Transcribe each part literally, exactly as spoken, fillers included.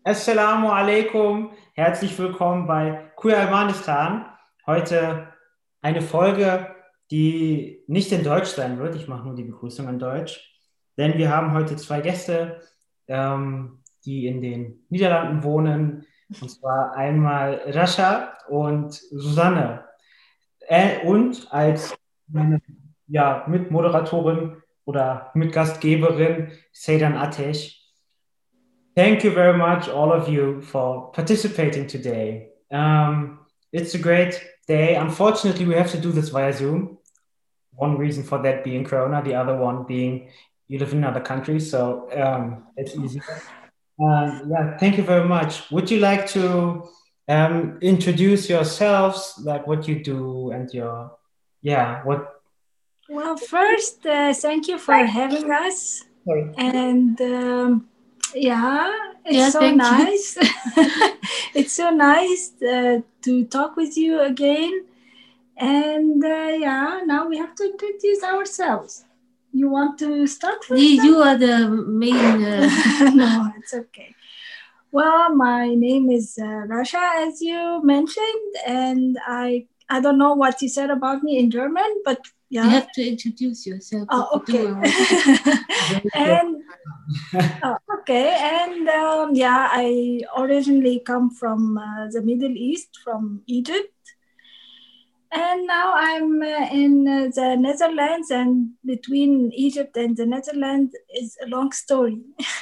Assalamu alaikum, herzlich willkommen bei Queer Almanistan. Heute eine Folge, die nicht in Deutsch sein wird. Ich mache nur die Begrüßung in Deutsch, denn wir haben heute zwei Gäste, ähm, die in den Niederlanden wohnen, und zwar einmal Rascha und Susanne. Äh, und als meine ja, Mitmoderatorin oder Mitgastgeberin Seydan Atesh. Thank you very much, all of you, for participating today. Um, it's a great day. Unfortunately, we have to do this via Zoom. One reason for that being Corona, the other one being you live in another country, so um, it's easier. Uh, yeah, thank you very much. Would you like to um, introduce yourselves, like what you do and your, yeah, what? Well, first, uh, thank you for having us. Sorry. And um, yeah, it's Yeah, so thank you. nice. It's so nice uh, to talk with you again. And uh, yeah, now we have to introduce ourselves. You want to start first? You, then? you are the main. Uh, No, it's okay. Well, my name is uh, Rasha, as you mentioned, and I I don't know what you said about me in German, but yeah. You have to introduce yourself. Oh, what you okay. do. and oh, okay, and um, yeah, I originally come from uh, the Middle East, from Egypt, and now I'm uh, in uh, the Netherlands. And between Egypt and the Netherlands is a long story.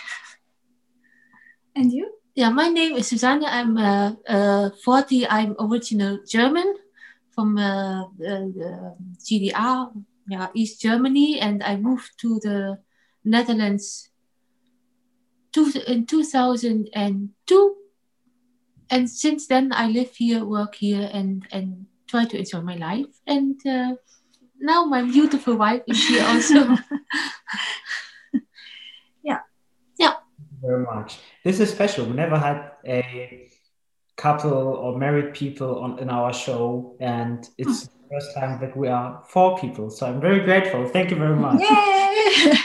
And you? Yeah, my name is Susanne. I'm uh, uh, forty. I'm original German from uh, the, the G D R, yeah, East Germany, and I moved to the Netherlands two, in two thousand two. And since then, I live here, work here, and, and try to enjoy my life. And uh, now my beautiful wife is here also. Yeah. Yeah. Thank you very much. This is special. We never had a couple or married people on in our show, and it's the first time that we are four people. So I'm very grateful. Thank you very much. Yay!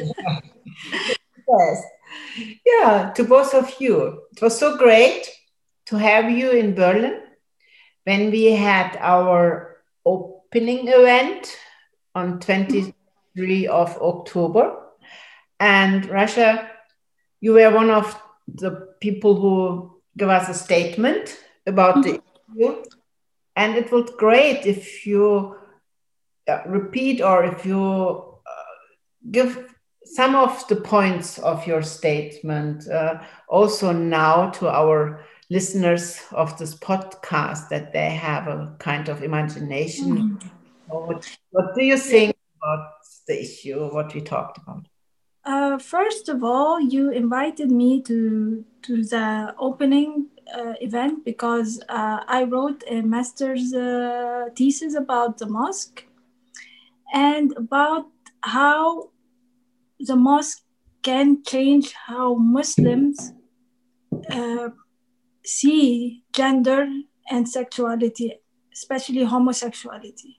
Yes. Yeah, to both of you. It was so great to have you in Berlin when we had our opening event on twenty-third of October. And Rasha, you were one of the people who gave us a statement about the issue. And it was great if you uh, repeat or if you uh, give some of the points of your statement uh, also now to our listeners of this podcast, that they have a kind of imagination. Mm. What, what do you think about the issue, what we talked about? Uh, first of all, you invited me to to the opening uh, event because uh, I wrote a master's uh, thesis about the mosque and about how the mosque can change how Muslims uh, see gender and sexuality, especially homosexuality.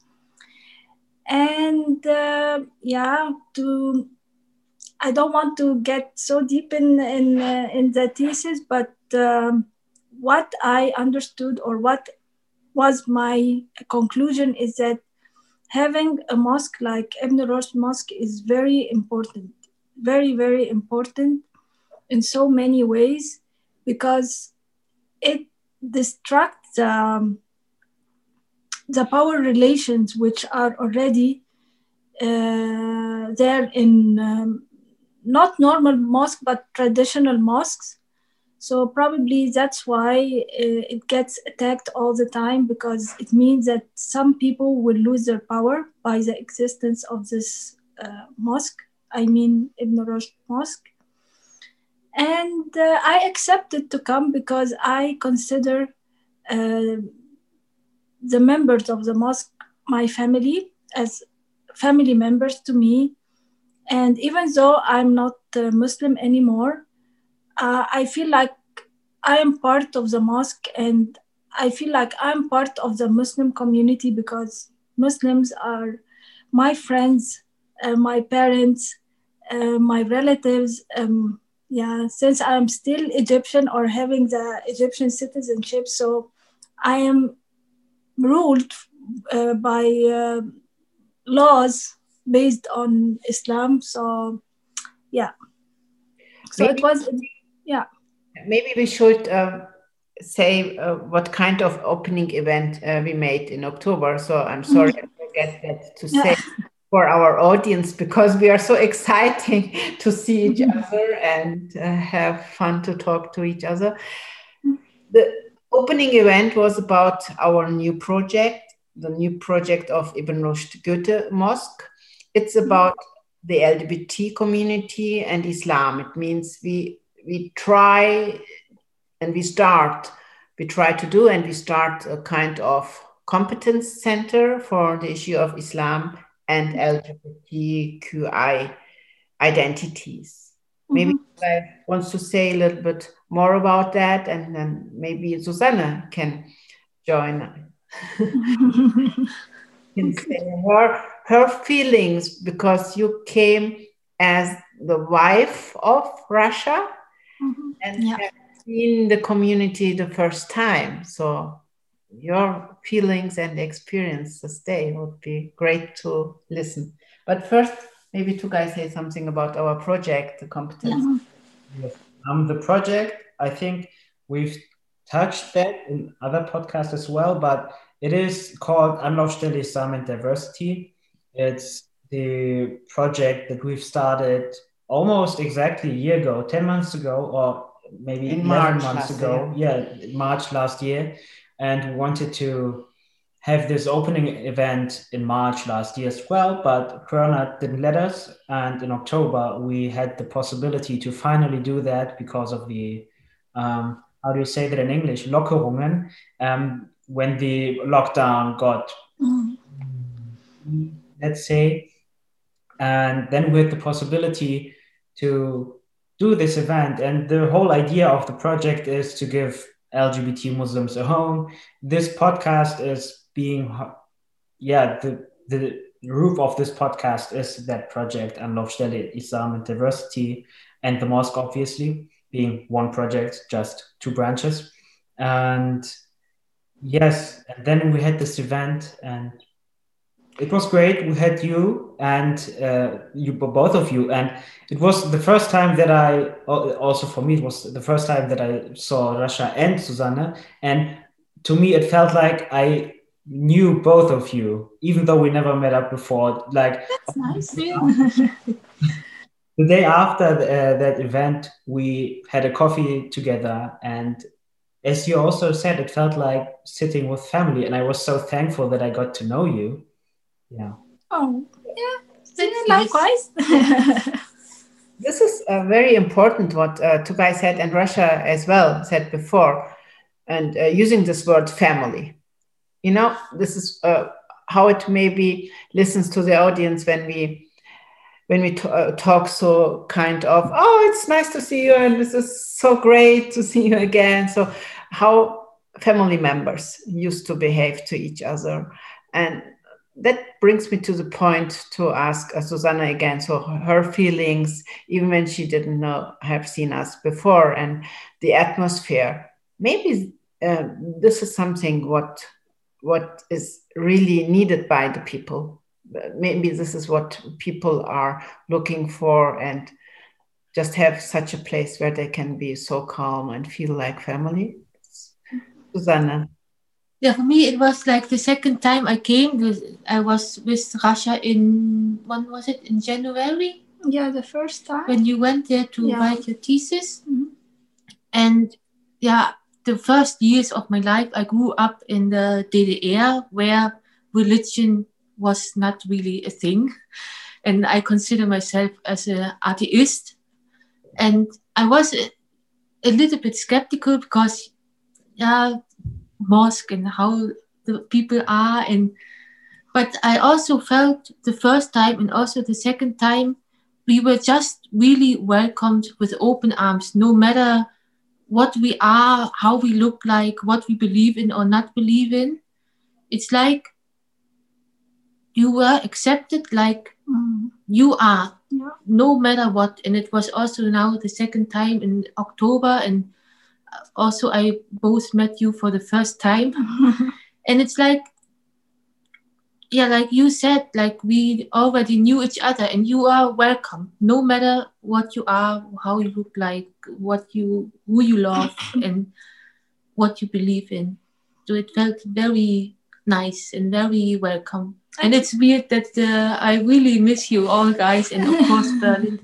And uh, yeah, to I don't want to get so deep in in, uh, in the thesis, but um, what I understood or what was my conclusion is that having a mosque like Ibn Rushd Mosque is very important, very, very important in so many ways, because it distracts um, the power relations which are already uh, there in um, not normal mosque, but traditional mosques. So probably that's why uh, it gets attacked all the time, because it means that some people will lose their power by the existence of this uh, mosque. I mean, Ibn Rushd Mosque. And uh, I accepted to come because I consider uh, the members of the mosque my family, as family members to me. And even though I'm not uh, Muslim anymore, uh, I feel like I am part of the mosque, and I feel like I'm part of the Muslim community, because Muslims are my friends, uh, my parents, uh, my relatives, um, yeah, since I'm still Egyptian or having the Egyptian citizenship, so I am ruled uh, by uh, laws based on Islam. So yeah, so Maybe- it was, yeah. Maybe we should uh, say uh, what kind of opening event uh, we made in October. So I'm sorry I forget that to say for our audience, because we are so exciting to see each other and uh, have fun to talk to each other. The opening event was about our new project, the new project of Ibn Rushd Goethe Mosque. It's about the L G B T community and Islam. It means we we try and we start, we try to do and we start a kind of competence center for the issue of Islam and L G B T Q I identities. Maybe Mhm. I wants to say a little bit more about that, and then maybe Susanne can join. Can say her her feelings, because you came as the wife of Russia Mhm. and Yeah. have seen the community the first time. So your feelings and experiences they would be great to listen. But first, maybe two guys say something about our project, the competence. Yes. Um, the project, I think we've touched that in other podcasts as well, but it is called Anlaufstelle Islam and Diversity. It's the project that we've started almost exactly a year ago, ten months ago, or maybe In eleven March months last ago. Yeah, March last year. And we wanted to have this opening event in March last year as well, but Corona didn't let us. And in October, we had the possibility to finally do that because of the, um, how do you say that in English? Lockerungen, um, when the lockdown got, Mhm. let's say, and then we had the possibility to do this event. And the whole idea of the project is to give L G B T Muslims a home. This podcast is being, yeah, the the roof of this podcast is that project, Anlaufstelle Islam and Diversity, and the mosque, obviously, being one project, just two branches. And yes, and then we had this event, and it was great. We had you and uh, you, both of you, and it was the first time that I, also for me, it was the first time that I saw Rasha and Susanne, and to me, it felt like I knew both of you, even though we never met up before. Like That's nice. the day after uh, that event, we had a coffee together, and as you also said, it felt like sitting with family, and I was so thankful that I got to know you. Yeah. Oh, yeah. That's Likewise. This is uh, very important what uh, Tugay said and Russia as well said before, and uh, using this word family. You know, this is uh, how it maybe listens to the audience when we when we t- uh, talk so kind of, oh, it's nice to see you and this is so great to see you again. So how family members used to behave to each other. And that brings me to the point to ask uh, Susanne again. So her feelings, even when she didn't know, have seen us before, and the atmosphere. Maybe uh, this is something what what is really needed by the people. Maybe this is what people are looking for, and just have such a place where they can be so calm and feel like family. Susanne. Yeah, for me, it was like the second time I came. With, I was with Rasha in, when was it? In January? Yeah, the first time. When you went there to Yeah. write your thesis. Mhm. And yeah, the first years of my life, I grew up in the D D R where religion was not really a thing. And I consider myself as an atheist. And I was a, a little bit skeptical because, yeah, mosque and how the people are. And but I also felt the first time and also the second time, we were just really welcomed with open arms, no matter what we are, how we look like, what we believe in or not believe in. It's like you were accepted like Mhm. you are, Yeah. no matter what. And it was also now the second time in October, and also I both met you for the first time. And it's like, yeah, like you said, like we already knew each other, and you are welcome, no matter what you are, how you look like, what you, who you love, and what you believe in. So it felt very nice and very welcome. And it's weird that uh, I really miss you all, guys, and of course Berlin.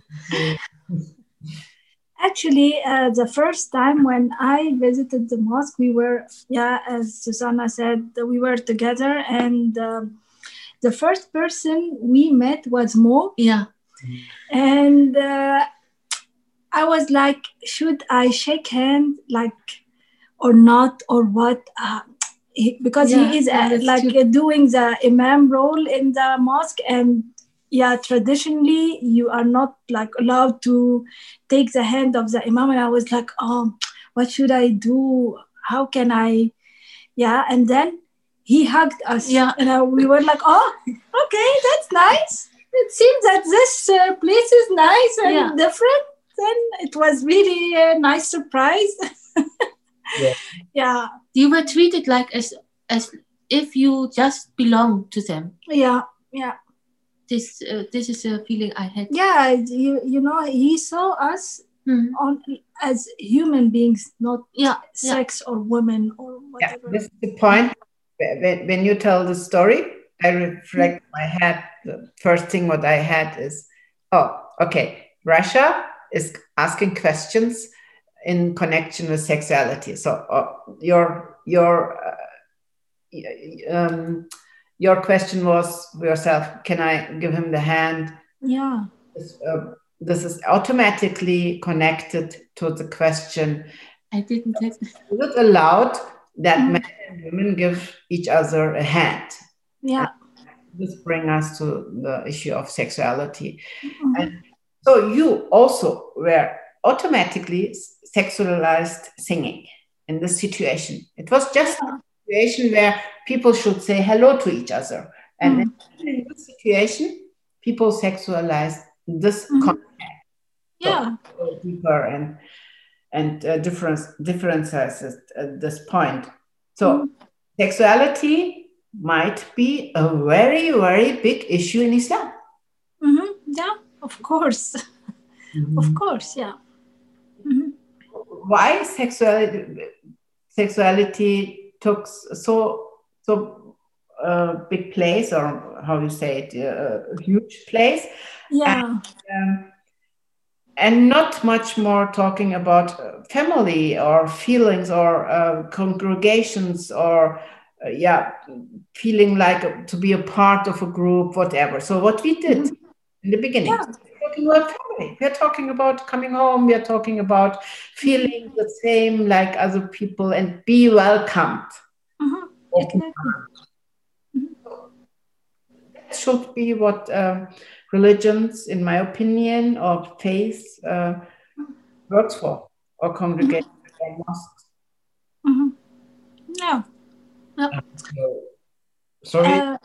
Actually, uh, the first time when I visited the mosque, we were, yeah, as Susanna said, we were together, and um, the first person we met was Mo. Yeah. And uh, I was like, should I shake hand, like, or not, or what? Uh, he, because Yeah, he is yeah, uh, that's like true. uh, doing the imam role in the mosque, and yeah, traditionally you are not like allowed to take the hand of the imam. And I was like, oh, what should I do? How can I? Yeah, and then he hugged us. Yeah. And uh, we were like, oh, okay, that's nice. It seems that this uh, place is nice and Yeah. different. Then it was really a nice surprise. Yeah. Yeah, You were treated like as as if you just belong to them. yeah, yeah. This uh, this is a feeling I had. Yeah, you, you know, he saw us Hmm. on as human beings, not Yeah, yeah. sex or women or Yeah, whatever. this is the point. When, when you tell the story, I reflect in my head. The first thing what I had is, oh, okay, Russia is asking questions in connection with sexuality. So uh, your your uh, um, your question was yourself, can I give him the hand? Yeah. This, uh, this is automatically connected to the question, I didn't have. is it allowed that Mhm. men and women give each other a hand? Yeah. This brings us to the issue of sexuality. Mhm. And so you also were automatically sexualized singing in this situation. It was just Yeah. a situation where people should say hello to each other. And Mm. in this situation, people sexualize this Mhm. contact. Yeah. So deeper and and uh, difference differences at this point. So Mhm. sexuality might be a very, very big issue in Islam. Mhm. Yeah, of course. Of course, yeah. Mhm. Why sexuality sexuality took so so uh, big place, or how you say it, uh, a huge place, Yeah. um, and not much more talking about uh, family or feelings or uh, congregations or uh, yeah, feeling like to be a part of a group, whatever. So what we did Mhm. in the beginning, Yeah. we're talking about family. We're talking about coming home. We're talking about feeling the same like other people and be welcomed. Mhm. Open Exactly. That should be what um, religions, in my opinion, or faith uh, works for, or congregation or mosques. Mhm. Yeah. So, sorry. Uh,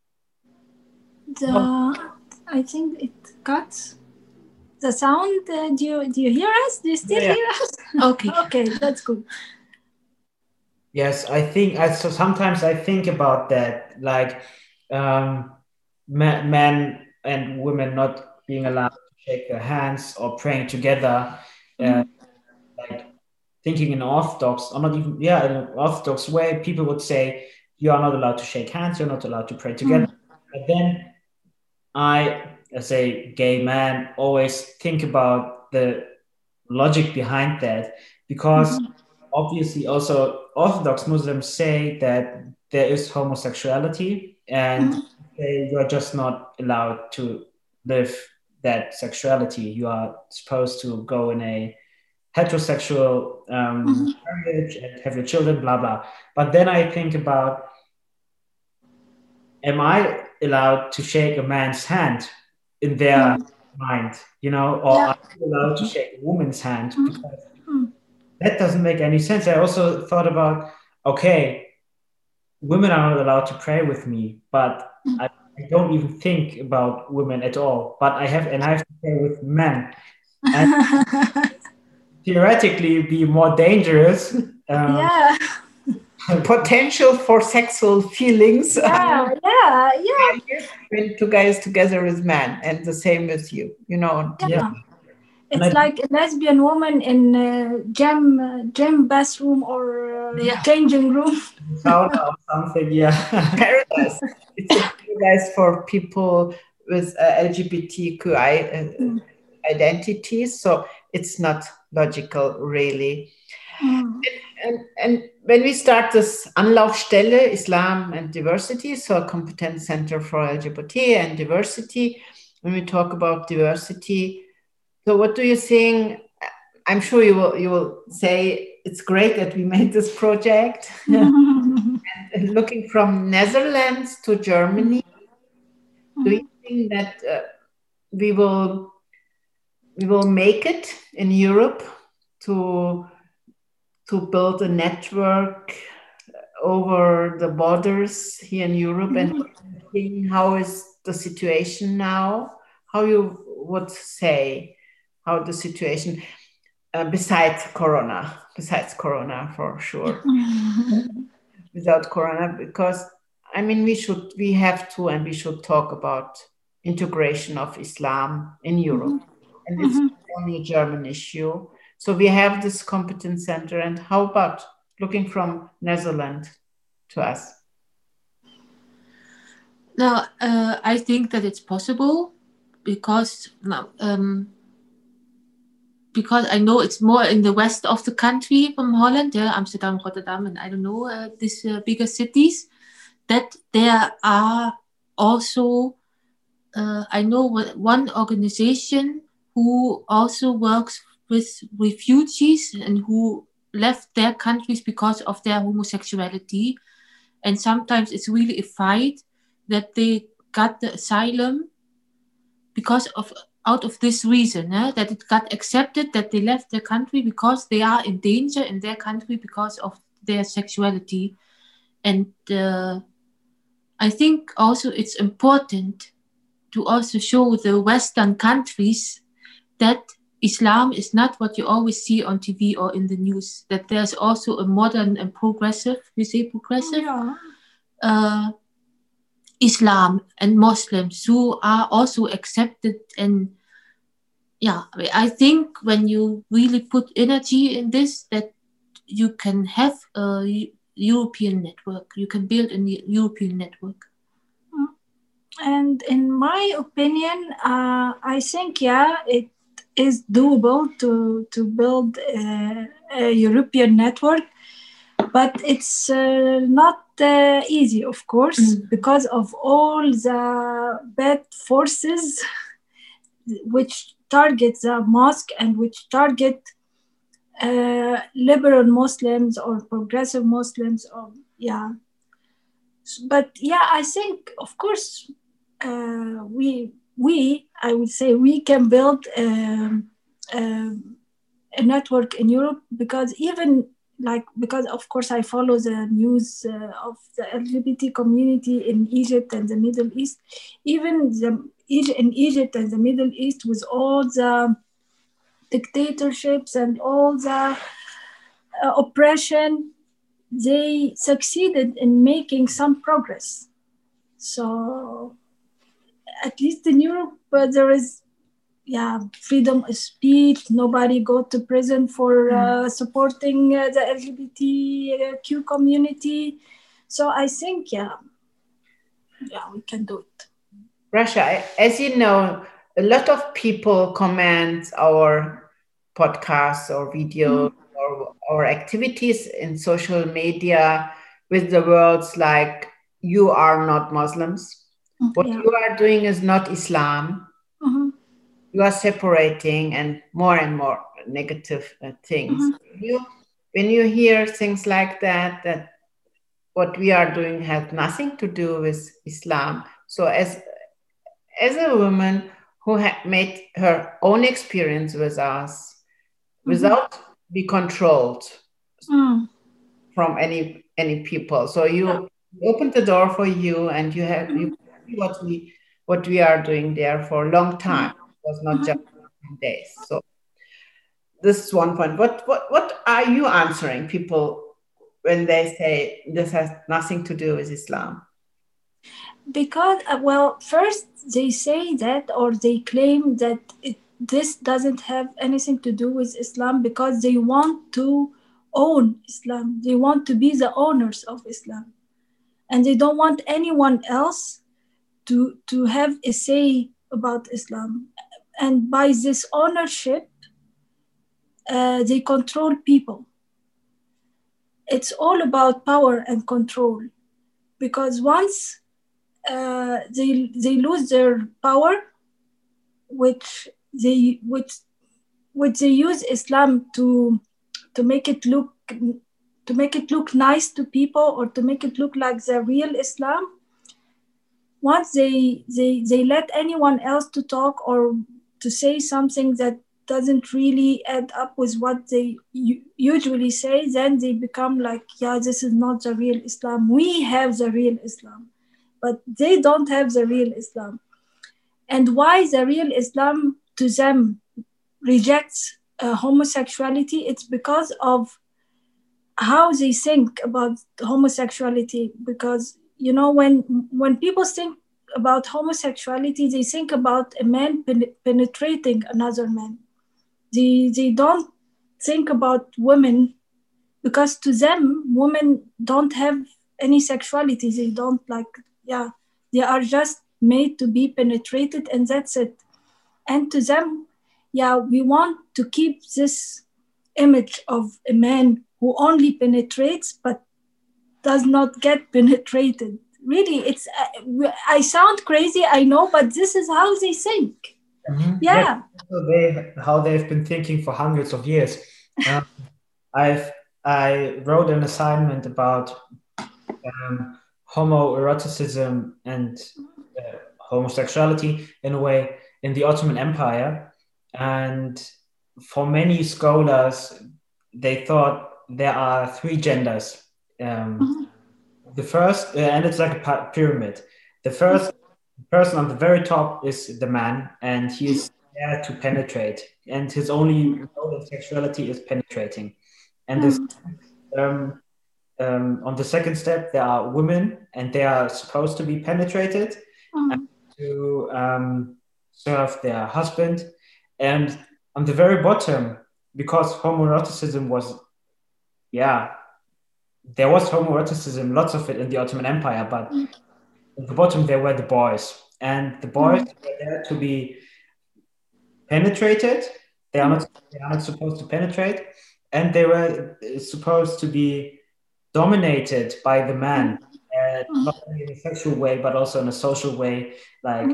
the I think it cuts the sound. Uh, do you do you hear us? Do you still Yeah, yeah. hear us? Okay. Okay, that's good. Yes, I think I so sometimes I think about that, like um, men, men and women not being allowed to shake their hands or praying together, uh, like thinking in Orthodox, or not even, yeah, in an Orthodox way, people would say you are not allowed to shake hands, you're not allowed to pray together. But then I, as a gay man, always think about the logic behind that, because obviously also Orthodox Muslims say that there is homosexuality, and they, you are just not allowed to live that sexuality. You are supposed to go in a heterosexual um, marriage and have your children, blah, blah. But then I think about, am I allowed to shake a man's hand in their mind, you know, or Yeah. are you allowed to shake a woman's hand? Because that doesn't make any sense. I also thought about, okay, women are not allowed to pray with me, but I I don't even think about women at all, but I have, and I have to say with men. And theoretically be more dangerous. Um, yeah. Potential for sexual feelings. Yeah, yeah, yeah. When two guys together with men, and the same with you, you know. Yeah. And It's I- like a lesbian woman in uh, gym, uh, gym bathroom or uh, Yeah. changing room. sauna or something, yeah. Paradise. It's a paradise for people with uh, L G B T Q I uh, Mm. identities. So it's not logical, really. Mm. And, and when we start this Anlaufstelle, Islam and Diversity, so a competence center for L G B T and diversity, when we talk about diversity, so what do you think? I'm sure you will, you will say it's great that we made this project. And looking from Netherlands to Germany, do you think that uh, we will we will make it in Europe to to build a network over the borders here in Europe? And how is the situation now? How you would say how the situation uh, besides Corona, besides Corona for sure, without Corona, because I mean we should we have to and we should talk about integration of Islam in Europe, and it's not only a German issue. So we have this competence center, and how about looking from Netherlands to us? Now, uh, I think that it's possible because now, um, because I know it's more in the west of the country from Holland, yeah, Amsterdam, Rotterdam, and I don't know uh, these uh, bigger cities. That there are also, uh, I know one organization who also works with refugees and who left their countries because of their homosexuality, and sometimes it's really a fight that they got the asylum because of out of this reason, eh? That it got accepted that they left their country because they are in danger in their country because of their sexuality. And uh, I think also it's important to also show the Western countries that Islam is not what you always see on T V or in the news, that there's also a modern and progressive, we say progressive, Yeah. uh, Islam and Muslims who are also accepted. And yeah, I think when you really put energy in this, that you can have a European network, you can build a European network. And in my opinion, uh, I think, yeah, it is doable to, to build a, a European network, but it's uh, not uh, easy, of course, mm. because of all the bad forces which target the mosque and which target uh, liberal Muslims or progressive Muslims. Or yeah, but yeah, I think, of course, uh, we we I would say we can build um, um, a network in Europe, because even like because of course I follow the news uh, of the L G B T community in Egypt and the Middle East. Even the in Egypt and the Middle East, with all the dictatorships and all the uh, oppression, they succeeded in making some progress. So at least in Europe, uh, there is, yeah, freedom of speech. Nobody go to prison for uh, supporting uh, the L G B T Q community. So I think, yeah, yeah, we can do it. Rasha, as you know, a lot of people comment our podcasts or videos mm. or, or activities in social media with the words like, you are not Muslims. What yeah. you are doing is not Islam. Mm-hmm. You are separating, and more and more negative uh, things. Mm-hmm. You, when you hear things like that, that what we are doing has nothing to do with Islam. So as, as a woman who had made her own experience with us, mm-hmm. without be controlled mm. from any any people. So you yeah. opened the door for you, and you have you what we what we are doing there for a long time. It was not just days. So this is one point. What what what are you answering people when they say this has nothing to do with Islam? Because, uh, well, first they say that, or they claim that it, this doesn't have anything to do with Islam because they want to own Islam. They want to be the owners of Islam. And they don't want anyone else to, to have a say about Islam. And by this ownership, uh, they control people. It's all about power and control. Because once uh, they they lose their power, which they which which they use Islam to to make it look to make it look nice to people, or to make it look like the real Islam. Once they they they let anyone else to talk or to say something that doesn't really add up with what they u- usually say, then they become like, yeah, this is not the real Islam. We have the real Islam, but they don't have the real Islam. And why the real Islam to them rejects uh, homosexuality? It's because of how they think about homosexuality. Because, you know, when when people think about homosexuality, they think about a man pen- penetrating another man. They, they don't think about women, because to them, women don't have any sexuality. They don't like, yeah, they are just made to be penetrated, and that's it. And to them, yeah, we want to keep this image of a man who only penetrates but does not get penetrated. Really, it's, uh, I sound crazy, I know, but this is how they think. Mm-hmm. Yeah. So they, how they've been thinking for hundreds of years. Um, I've I wrote an assignment about um, homoeroticism and uh, homosexuality in a way in the Ottoman Empire, and for many scholars, they thought there are three genders. Um, Mm-hmm. The first, uh, and it's like a pyramid. The first person on the very top is the man, and he is there to penetrate, and his only role in sexuality is penetrating. And this, um, um, on the second step, there are women, and they are supposed to be penetrated Mm-hmm. and to um, serve their husband. And on the very bottom, because homoeroticism was, yeah, there was homoeroticism, lots of it in the Ottoman Empire, but at the bottom there were the boys, and the boys mm. were there to be penetrated. They are not, they are not supposed to penetrate, and they were supposed to be dominated by the man, uh, not only in a sexual way, but also in a social way, like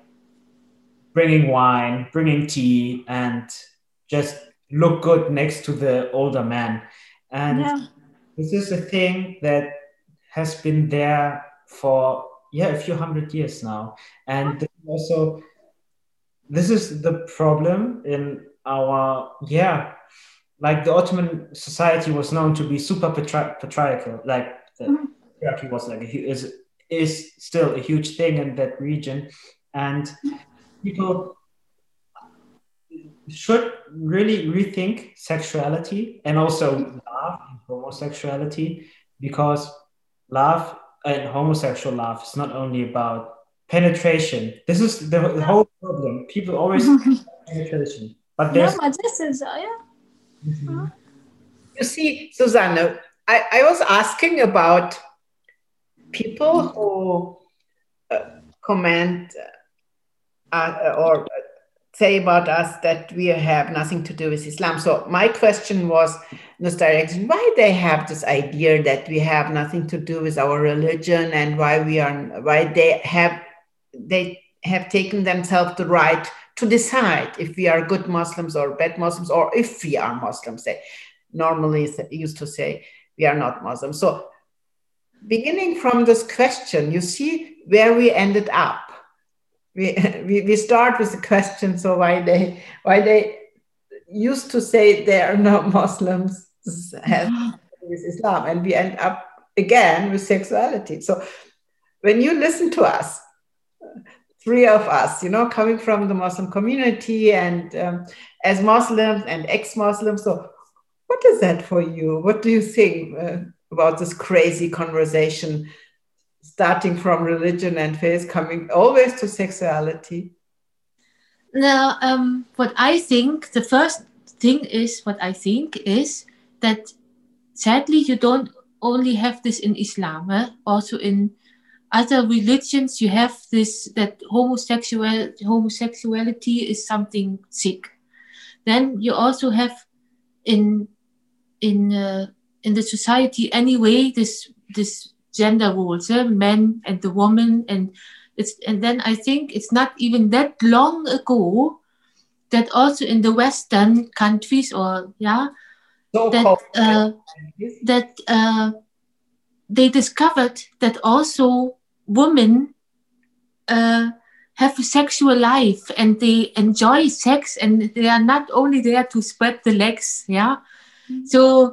bringing wine, bringing tea, and just look good next to the older man. And yeah. This is a thing that has been there for, yeah, a few hundred years now. And also, this is the problem in our, yeah, like the Ottoman society was known to be super patri- patriarchal, like the mm-hmm. patriarchy was like, a, is, is still a huge thing in that region. And people should really rethink sexuality and also love and homosexuality, because love and homosexual love is not only about penetration. This is the, the whole problem. People always penetration, but there's yeah, but this is uh, yeah. Mm-hmm. You see, Susanne, I, I was asking about people who uh, comment uh, or say about us that we have nothing to do with Islam. So my question was in this direction: why they have this idea that we have nothing to do with our religion, and why we are, why they have, they have taken themselves the right to decide if we are good Muslims or bad Muslims, or if we are Muslims. They normally used to say we are not Muslims. So beginning from this question, you see where we ended up. We, we we start with the question, so why they why they used to say they are not Muslims, this has to do with Islam, and we end up again with sexuality. So when you listen to us, three of us, you know, coming from the Muslim community and um, as Muslims and ex-Muslims. So what is that for you? What do you think uh, about this crazy conversation, starting from religion and faith, coming always to sexuality? Now, um, what I think, the first thing is, what I think is that sadly you don't only have this in Islam, eh? Also in other religions you have this, that homosexual homosexuality is something sick. Then you also have in in uh, in the society anyway this this gender roles, eh? Men and the woman, and it's and then I think it's not even that long ago that also in the Western countries, or yeah, So that uh, that uh, they discovered that also women uh, have a sexual life and they enjoy sex, and they are not only there to spread the legs, yeah. Mm-hmm. So,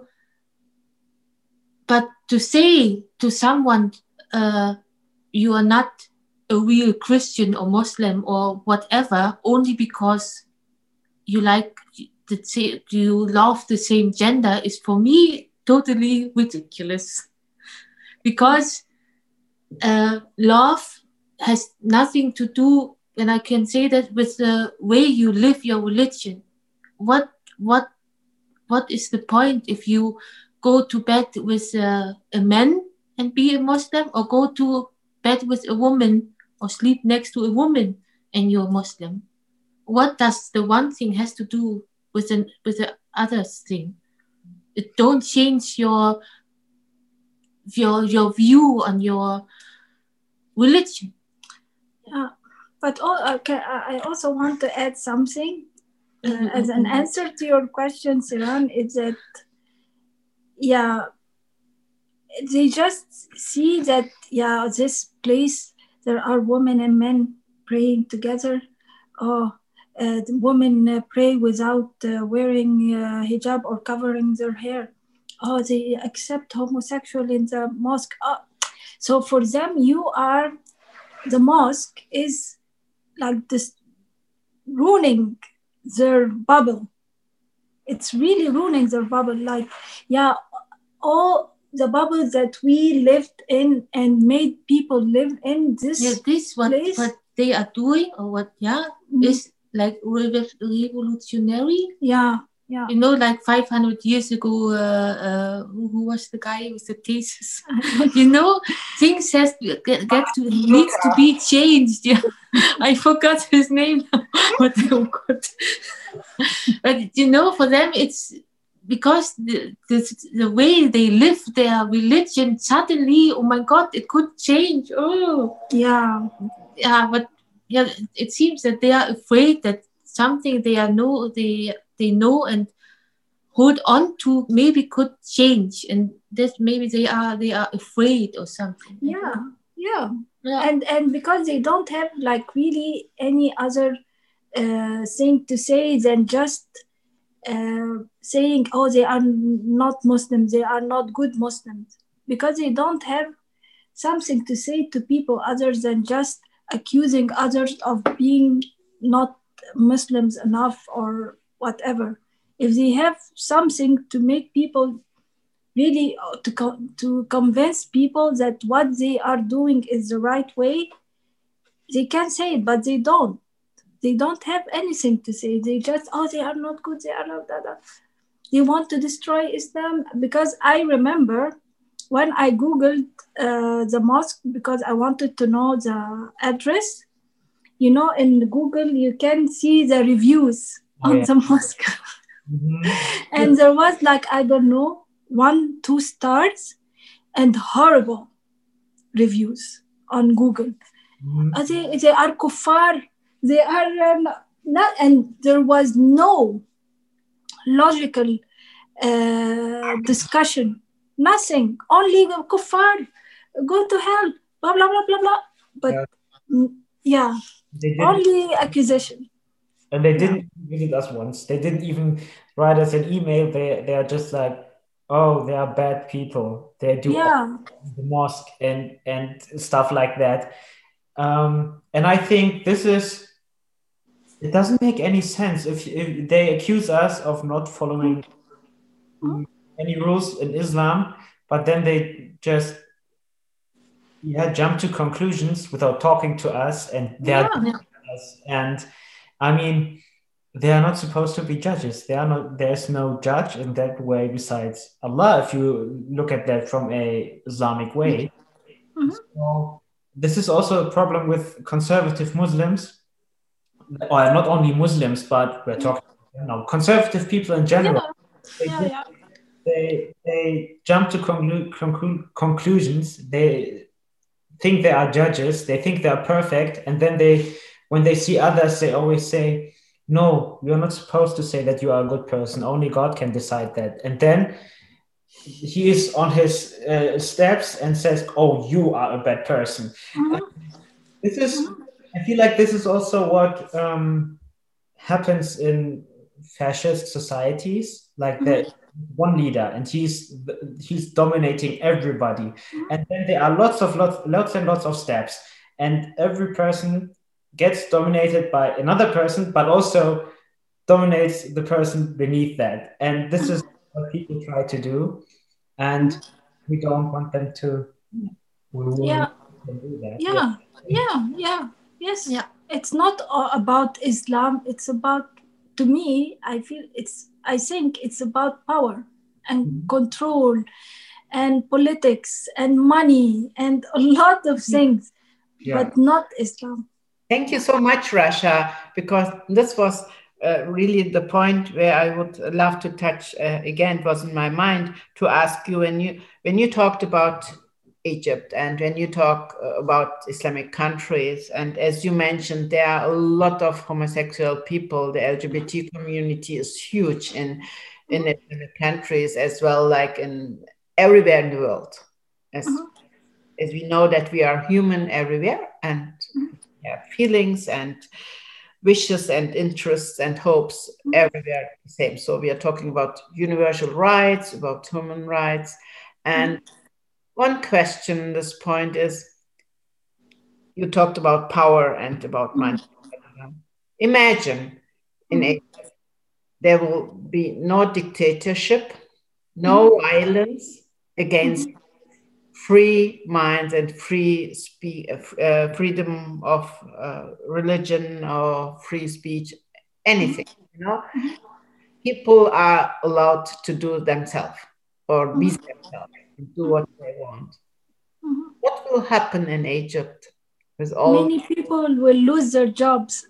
but to say to someone, uh, you are not a real Christian or Muslim or whatever, only because you like the same, you love the same gender, is for me totally ridiculous. Because uh, love has nothing to do, and I can say that, with the way you live your religion. What what what is the point if you go to bed with uh, a man and be a Muslim, or go to bed with a woman or sleep next to a woman and you're Muslim? What does the one thing has to do with an with the other thing? It don't change your your your view on your religion. Yeah, but all, okay, I also want to add something uh, mm-hmm. as an answer to your question, Siran. Is that yeah, they just see that yeah, this place there are women and men praying together. Oh. Uh, the women uh, pray without uh, wearing uh, hijab or covering their hair. Oh, they accept homosexual in the mosque. Oh. So for them, you are, the mosque is like this, ruining their bubble. It's really ruining their bubble. Like, yeah, all the bubble that we lived in and made people live in this yeah, this what, place. What they are doing, or what, yeah, mm-hmm. is like revolutionary. Yeah, yeah. You know, like five hundred years ago, uh, uh, who, who was the guy with the thesis? You know, things has to get, get to needs to be changed. Yeah, I forgot his name. What oh God. But you know, for them, it's because the, the the way they live their religion. Suddenly, oh my God, it could change. Oh, yeah, yeah, but. Yeah, it seems that they are afraid that something they are know they they know and hold on to maybe could change, and that maybe they are they are afraid or something. Yeah, yeah, yeah. And and because they don't have like really any other uh, thing to say than just uh, saying, oh, they are not Muslims, they are not good Muslims, because they don't have something to say to people other than just accusing others of being not Muslims enough or whatever. If they have something to make people really, to, co- to convince people that what they are doing is the right way, they can say it, but they don't. They don't have anything to say. They just, oh, they are not good, they are not that. that. They want to destroy Islam. Because I remember when I Googled uh, the mosque, because I wanted to know the address, you know, in Google, you can see the reviews oh, on yeah. the mosque. Mm-hmm. And there was like, I don't know, one, two stars and horrible reviews on Google. Mm-hmm. Uh, they, they are kuffar. They are um, not, and there was no logical uh, discussion. Nothing, only kuffar, go to hell, blah, blah, blah, blah, blah. But yeah, yeah only accusation. And they didn't yeah. visit us once. They didn't even write us an email. They they are just like, oh, they are bad people. They do yeah. the mosque and, and stuff like that. Um, and I think this is, it doesn't make any sense if, if they accuse us of not following Mm-hmm. any rules in Islam, but then they just yeah jump to conclusions without talking to us, and they're Yeah. us. And I mean, they are not supposed to be judges. They are not. There's no judge in that way besides Allah. If you look at that from a Islamic way, Mhm. so this is also a problem with conservative Muslims, or not only Muslims, but we're talking you know, conservative people in general. They Yeah, do- yeah. They they jump to conclu- conclu- conclusions. They think they are judges. They think they are perfect, and then they, when they see others, they always say, "No, you're not supposed to say that you are a good person. Only God can decide that." And then he is on his uh, steps and says, "Oh, you are a bad person." Mhm. This is, I feel like this is also what um, happens in fascist societies, like the one leader, and he's he's dominating everybody, and then there are lots of lots lots and lots of steps, and every person gets dominated by another person, but also dominates the person beneath that, and this is what people try to do, and we don't want them to. We will Yeah. do that. Yeah, yeah, yeah. Yes. Yeah. It's not a- about Islam. It's about, to me, I feel it's, I think it's about power and Mhm. control and politics and money and a lot of things, Yeah. but not Islam. Thank you so much, Rasha, because this was uh, really the point where I would love to touch uh, again. It was in my mind to ask you when you when you talked about Egypt and when you talk uh, about Islamic countries, and as you mentioned, there are a lot of homosexual people. The L G B T community is huge in in Islamic countries as well, like in everywhere in the world. As Mhm. as we know that we are human everywhere and have feelings and wishes and interests and hopes everywhere the same. So we are talking about universal rights, about human rights. And one question at this point is, you talked about power and about money. Imagine in Egypt, there will be no dictatorship, no violence against free minds and free spe- uh, freedom of uh, religion or free speech, anything. You know, people are allowed to do themselves or be themselves and do what they want. Mhm. What will happen in Egypt with all? Many people will lose their jobs.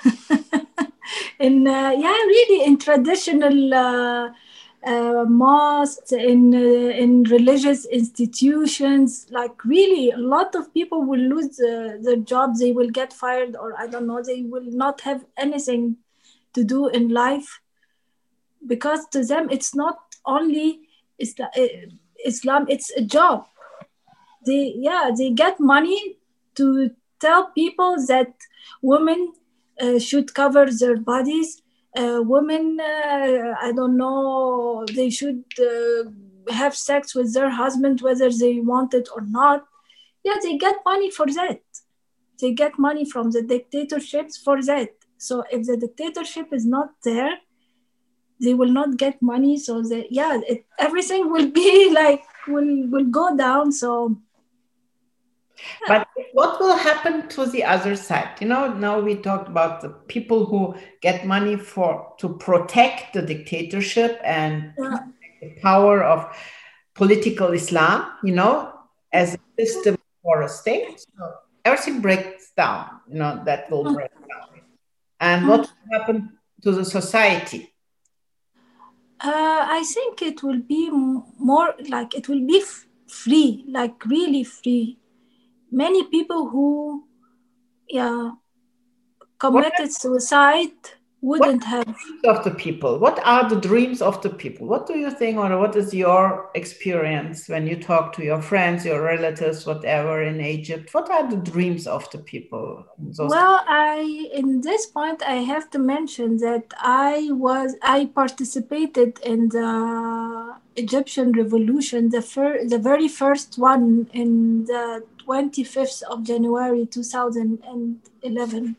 in uh, yeah, really in traditional uh, uh, mosques, in uh, in religious institutions, like really a lot of people will lose uh, their jobs. They will get fired, or I don't know. They will not have anything to do in life, because to them it's not only Islam. Islam it's a job. They yeah they get money to tell people that women uh, should cover their bodies. Uh, women, uh, I don't know, they should uh, have sex with their husband whether they want it or not. Yeah, they get money for that. They get money from the dictatorships for that. So if the dictatorship is not there, they will not get money. So that yeah, it, everything will be like will will go down. So. But what will happen to the other side? You know, now we talked about the people who get money for to protect the dictatorship and Yeah. the power of political Islam, you know, as a system for a state. So everything breaks down, you know, that will break down. And what will happen to the society? Uh, I think it will be m- more like it will be f- free, like really free. Many people who, yeah, committed suicide wouldn't have. Dreams of the people. What are the dreams of the people? What do you think, or what is your experience when you talk to your friends, your relatives, whatever in Egypt? What are the dreams of the people? Those Well, I in this point I have to mention that I was I participated in the Egyptian Revolution, the fir- the very first one in the twenty-fifth of January two thousand eleven.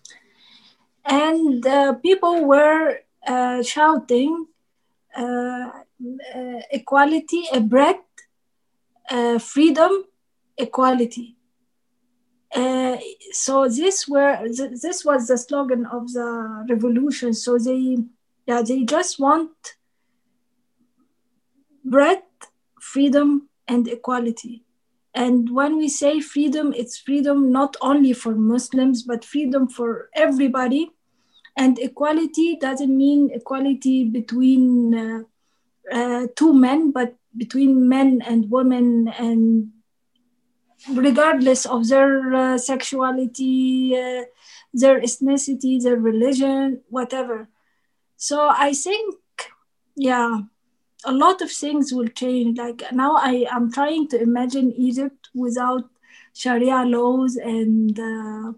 And uh, people were uh, shouting uh, uh, equality, a breath, uh, freedom, equality. Uh, so this were th- this was the slogan of the revolution. So they, yeah, they just want breath, freedom, and equality. And when we say freedom, it's freedom not only for Muslims, but freedom for everybody. And equality doesn't mean equality between uh, uh, two men, but between men and women, and regardless of their uh, sexuality, uh, their ethnicity, their religion, whatever. So I think, yeah, a lot of things will change. Like now I am trying to imagine Egypt without Sharia laws and uh,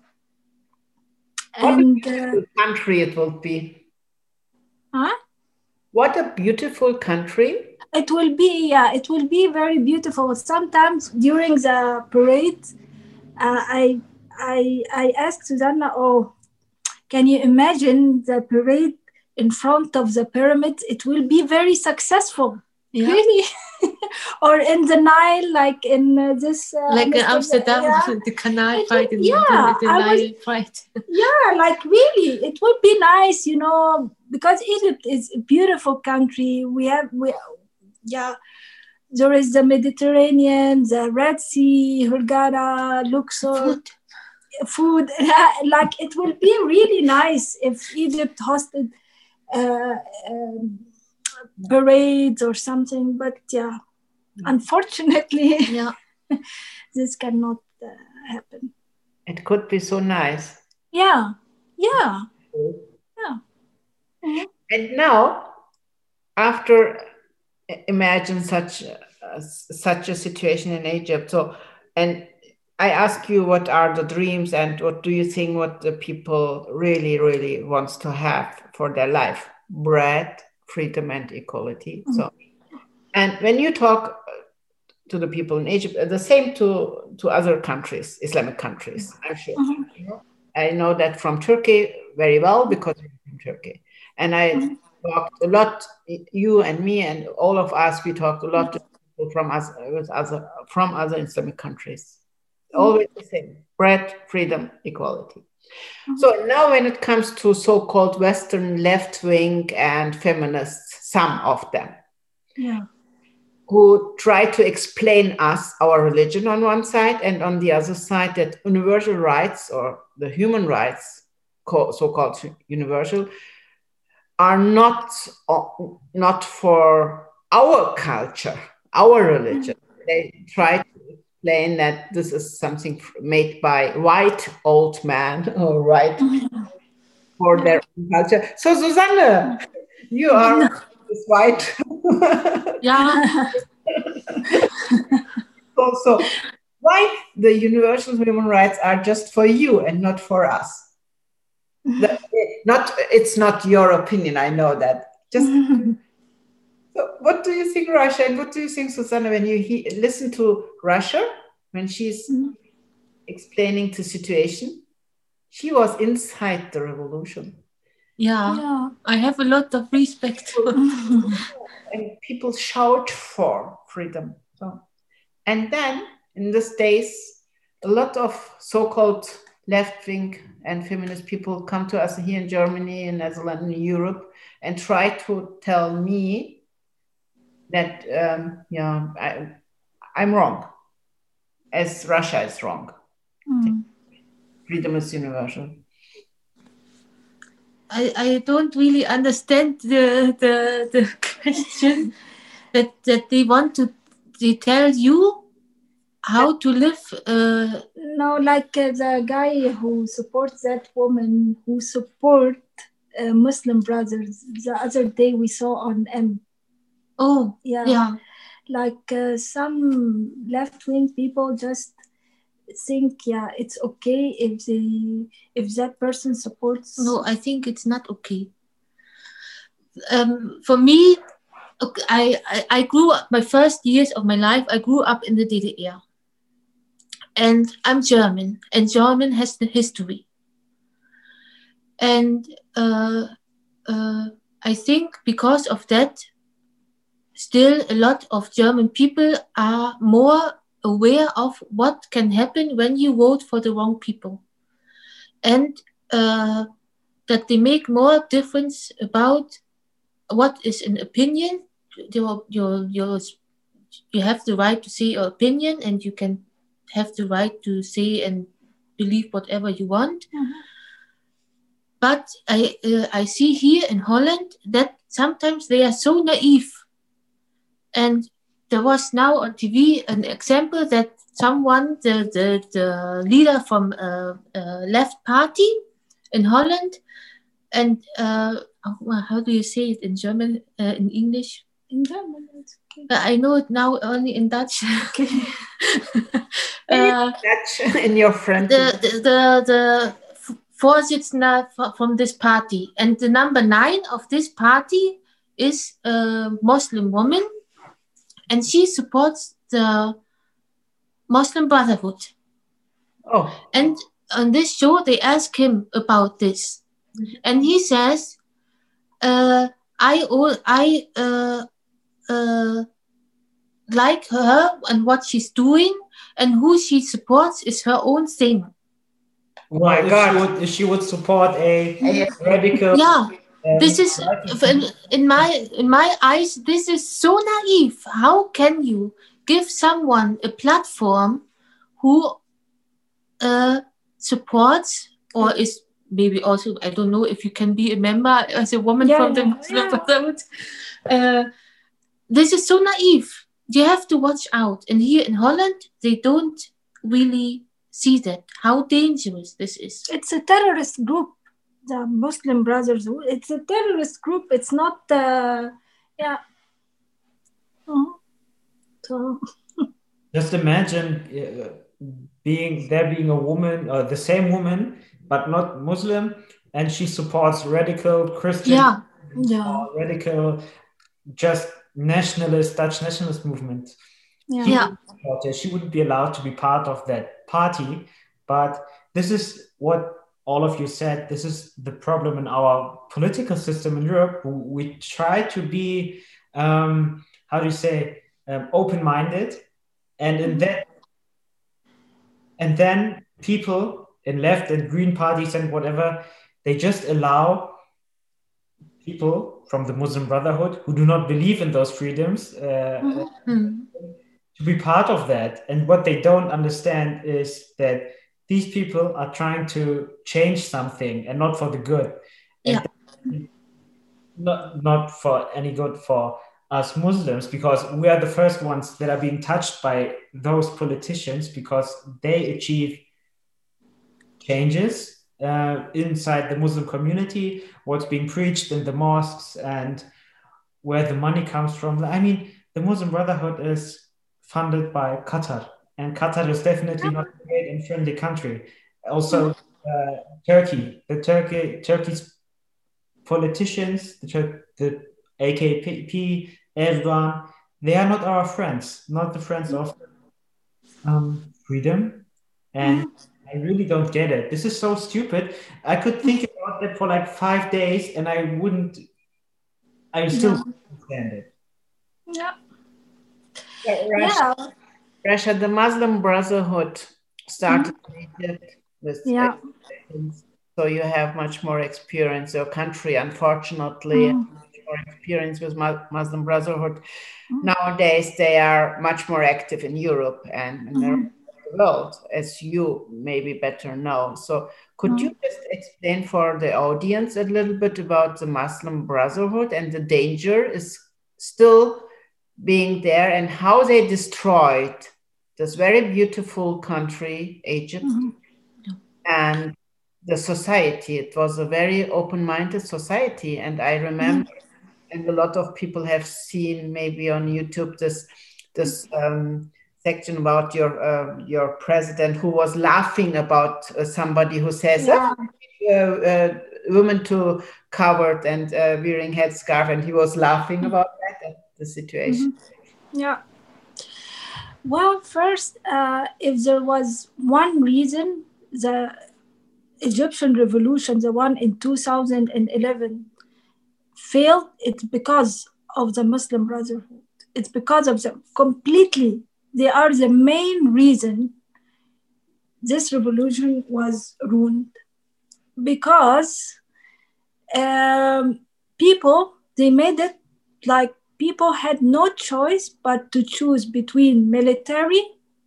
and what a uh, beautiful country it will be. huh? What a beautiful country. It will be, yeah, it will be very beautiful. Sometimes during the parade, uh, I I I asked Susanna, oh, can you imagine the parade in front of the pyramids? It will be very successful. Yeah. Really. Or in the Nile, like in uh, this uh, Like in Amsterdam, Amsterdam, yeah. the canal It fight would- and yeah, the, the I was- Nile fight. Yeah, like really, it would be nice, you know, because Egypt is a beautiful country. We have, we, yeah, there is the Mediterranean, the Red Sea, Hurghada, Luxor, Food. food. Like it will be really nice if Egypt hosted uh, um, parades or something. But yeah, unfortunately, Yeah. this cannot uh, happen. It could be so nice. Yeah, yeah, yeah. Mhm. And now, after imagine such uh, such a situation in Egypt, so and I ask you, what are the dreams and what do you think what the people really, really wants to have for their life? Bread, freedom, and equality. Mm-hmm. So, and when you talk to the people in Egypt, the same to to other countries, Islamic countries, I'm sure. Mm-hmm. You know? I know that from Turkey very well because I'm from Turkey, and I mm-hmm. talked a lot. You and me and all of us, we talked a lot mm-hmm. to people from us with other from other Islamic countries. Always the same: bread, freedom, equality. Mm-hmm. So now, when it comes to so-called Western left wing and feminists, some of them, yeah, who try to explain us our religion on one side, and on the other side that universal rights or the human rights, so-called universal, are not not for our culture, our religion. Mm-hmm. They try to explain that this is something made by white old man or white mm-hmm. for their own culture. So Susanne, you are this white. Yeah. so, so why the universal human rights are just for you and not for us? That, not it's not your opinion, I know that. Just so what do you think, Rasha, and what do you think, Susanne, when you he, listen to Rasha when she's mm-hmm. explaining the situation? She was inside the revolution. Yeah, yeah. I have a lot of respect. And people shout for freedom. So, and then in these days, a lot of so-called left-wing and feminist people come to us here in Germany, in Netherlands, in Europe, and try to tell me that, um, yeah, I, I'm wrong, as Russia is wrong. Mm. Freedom is universal. I, I don't really understand the the, the question that that they want to they tell you how to live. Uh, no, like uh, the guy who supports that woman who support uh, Muslim brothers. The other day we saw on M. Oh, yeah, yeah. Like uh, some left-wing people just think, yeah, it's okay if they if that person supports. No, I think it's not okay. Um, for me, I, I I grew up my first years of my life. I grew up in the D D R, and I'm German, and German has the history. And uh, uh, I think because of that, still a lot of German people are more aware of what can happen when you vote for the wrong people. And uh, that they make more difference about what is an opinion. Your, your, your, you have the right to say your opinion, and you can have the right to say and believe whatever you want. Mhm. But I, uh, I see here in Holland that sometimes they are so naive. And there was now on T V an example that someone, the, the, the leader from a, a left party in Holland, and uh, how do you say it in German, uh, in English? In German, it's okay. I know it now only in Dutch. Okay. uh, Dutch in your friend. the the the, the Vorsitzender from this party, and the number nine of this party is a Muslim woman, and she supports the Muslim Brotherhood. Oh, And on this show, they ask him about this, Mhm. and he says, uh, "I I uh, uh, like her and what she's doing, and who she supports is her own thing." oh Well, my if God. she would, if she would support a Yeah. radical, Yeah, um, this is in, in my in my eyes. This is so naive. How can you give someone a platform who uh, supports or is maybe also, I don't know if you can be a member as a woman Yeah, from the yeah, Muslim yeah. Brotherhood. Uh, this is so naive. You have to watch out. And here in Holland, they don't really see that, how dangerous this is. It's a terrorist group, the Muslim Brotherhood. It's a terrorist group. It's not, uh, yeah. Mhm. So, just imagine uh, being there, being a woman, uh, the same woman, but not Muslim, and she supports radical Christian, Yeah, yeah, or radical, just nationalist, Dutch nationalist movement. yeah. He yeah, wouldn't support her. She wouldn't be allowed to be part of that party. But this is what all of you said. This is the problem in our political system in Europe. We try to be, um, how do you say, um, open-minded, and in that, and then people in left and green parties and whatever, they just allow people from the Muslim Brotherhood who do not believe in those freedoms uh, Mhm. mm, to be part of that. And what they don't understand is that these people are trying to change something, and not for the good. And yeah, not, not for any good for us Muslims, because we are the first ones that are being touched by those politicians, because they achieve changes uh, inside the Muslim community, what's being preached in the mosques, and where the money comes from. I mean, the Muslim Brotherhood is funded by Qatar, and Qatar is definitely not a great and friendly country. Also, uh, Turkey, the Turkey, Turkey's politicians, the, Tur- the A K P, Erdogan, they are not our friends, not the friends of um, freedom. And I really don't get it. This is so stupid. I could think about that for like five days, and I wouldn't. I still Yeah. wouldn't understand it. Yeah. Yeah, Russia, Yeah. Russia, the Muslim Brotherhood started in Egypt with Yeah. Egyptians. So you have much more experience. Your country, unfortunately, has much more experience with Mu- Muslim Brotherhood. Nowadays, they are much more active in Europe and in the rest of the world, as you maybe better know. So could you just explain for the audience a little bit about the Muslim Brotherhood and the danger is still being there, and how they destroyed this very beautiful country, Egypt, and the society? It was a very open-minded society, and I remember, and a lot of people have seen maybe on YouTube this this um, section about your uh, your president who was laughing about uh, somebody who says, Yeah. "Oh, uh, uh, women too covered and uh, wearing headscarf," and he was laughing about that and the situation. Yeah. Well, first, uh, if there was one reason, the Egyptian revolution, the one in two thousand eleven, failed, it's because of the Muslim Brotherhood. It's because of them completely. They are the main reason this revolution was ruined. Because um, people, they made it like people had no choice but to choose between military